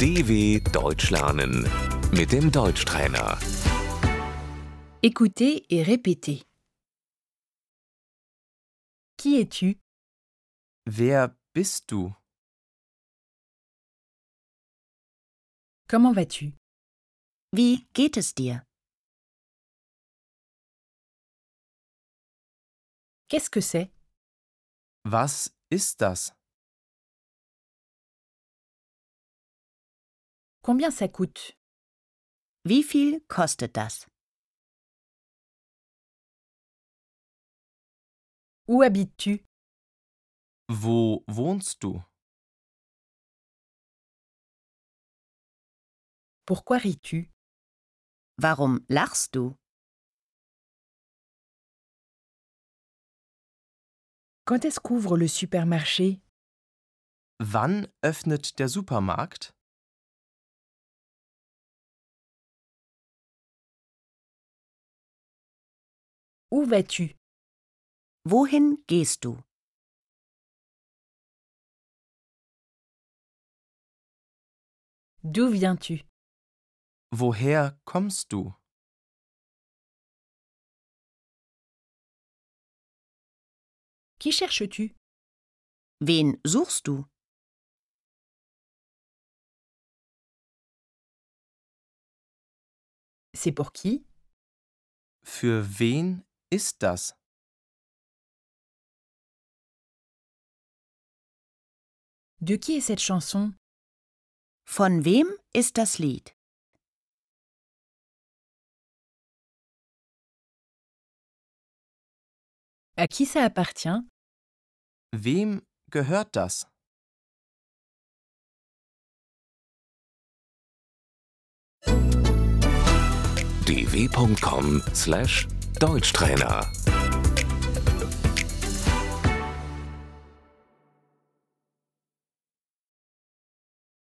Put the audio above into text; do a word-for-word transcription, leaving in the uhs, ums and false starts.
D W Deutsch lernen mit dem Deutschtrainer. Écoutez et répétez. Qui es-tu? Wer bist du? Comment vas-tu? Wie geht es dir? Qu'est-ce que c'est? Was ist das? Combien ça coûte? Wie viel kostet das? Où habites-tu? Wo wohnst du? Pourquoi ris-tu? Warum lachst du? Quand est-ce qu'ouvre le supermarché? Wann öffnet der Supermarkt? Où vas-tu? Wohin gehst du? D'où viens-tu? Woher kommst du? Qui cherches-tu? Wen suchst du? C'est pour qui? Für wen ist das? De qui est cette chanson? Von wem ist das Lied? À qui ça appartient? Wem gehört das? d w punkt com slash Deutschtrainer